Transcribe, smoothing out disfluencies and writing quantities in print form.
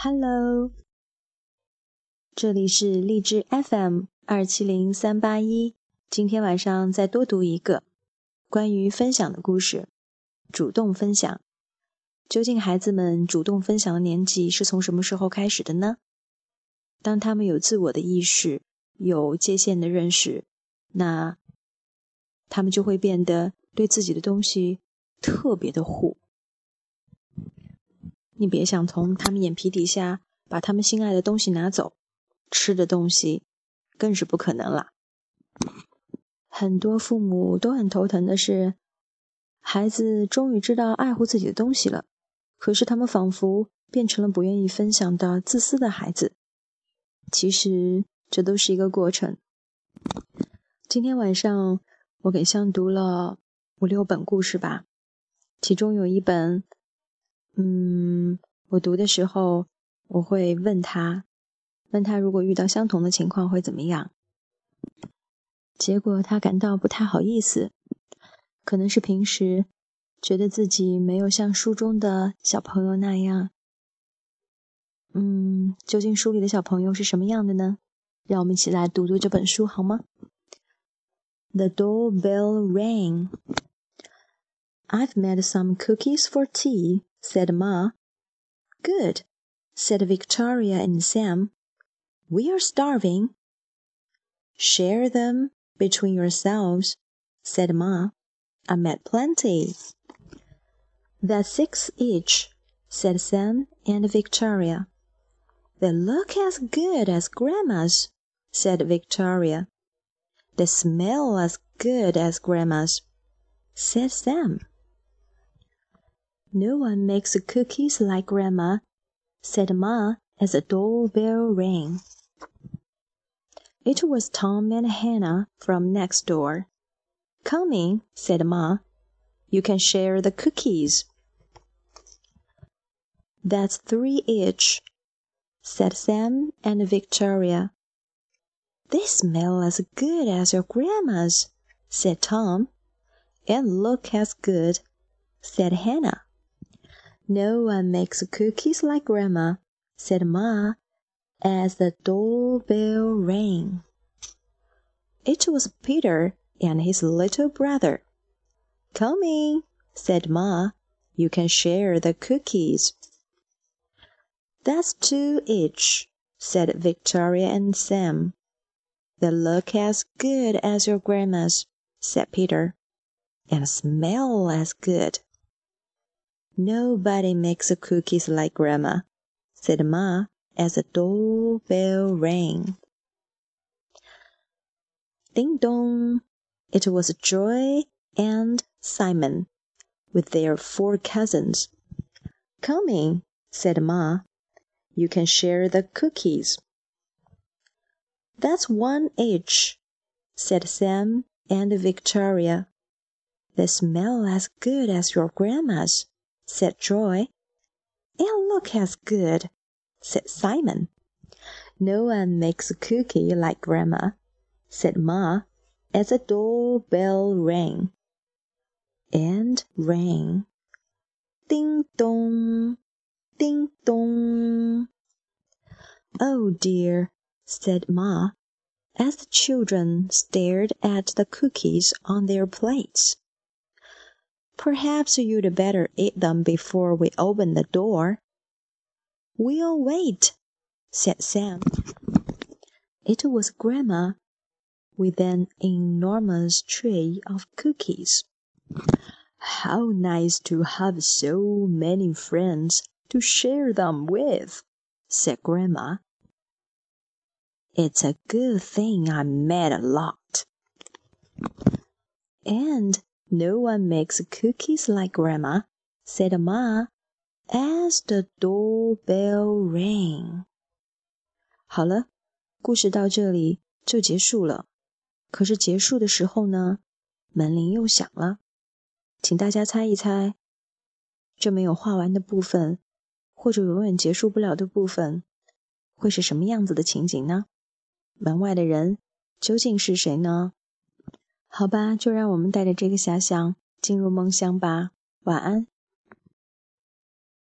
Hello， 这里是荔枝 FM270381，今天晚上再多读一个关于分享的故事，主动分享。究竟孩子们主动分享的年纪是从什么时候开始的呢？当他们有自我的意识，有界限的认识，那他们就会变得对自己的东西特别的护。你别想从他们眼皮底下把他们心爱的东西拿走，吃的东西更是不可能了。很多父母都很头疼的是，孩子终于知道爱护自己的东西了，可是他们仿佛变成了不愿意分享的自私的孩子。其实这都是一个过程。今天晚上我给香读了5-6本故事吧，其中有一本我读的时候我会问他如果遇到相同的情况会怎么样。结果他感到不太好意思，可能是平时觉得自己没有像书中的小朋友那样。究竟书里的小朋友是什么样的呢？让我们一起来读读这本书好吗？ The doorbell rang. I've made some cookies for tea, said Ma. Good, said Victoria and Sam. We are starving. Share them between yourselves, said Ma. I made plenty. That's 6 each, said Sam and Victoria. They look as good as Grandma's, said Victoria. They smell as good as Grandma's, said Sam. No one makes cookies like Grandma, said Ma as the doorbell rang. It was Tom and Hannah from next door. Come in, said Ma. You can share the cookies. That's 3 each, said Sam and Victoria. They smell as good as your grandma's, said Tom. And look as good, said Hannah. No one makes cookies like Grandma, said Ma, as the doorbell rang. It was Peter and his little brother. Come in, said Ma. You can share the cookies. That's 2 each, said Victoria and Sam. They look as good as your grandma's, said Peter, and smell as good. Nobody makes cookies like Grandma, said Ma as the doorbell rang. Ding dong! It was Joy and Simon, with their 4 cousins. Come in, said Ma. You can share the cookies. That's 1 each, said Sam and Victoria. They smell as good as your grandma's, said Joy. And look as good, said Simon. No one makes a cookie like Grandma, said Ma, as the doorbell rang. And rang. Ding dong, ding dong. Oh dear, said Ma, as the children stared at the cookies on their plates. Perhaps you'd better eat them before we open the door. We'll wait, said Sam. It was Grandma, with an enormous tray of cookies. How nice to have so many friends to share them with, said Grandma. It's a good thing I made a lot. And no one makes cookies like Grandma, said Ma, as the doorbell rang. 好了，故事到这里就结束了。可是结束的时候呢，门铃又响了。请大家猜一猜，这没有画完的部分，或者永远结束不了的部分，会是什么样子的情景呢？门外的人究竟是谁呢？好吧，就让我们带着这个遐想进入梦乡吧。晚安。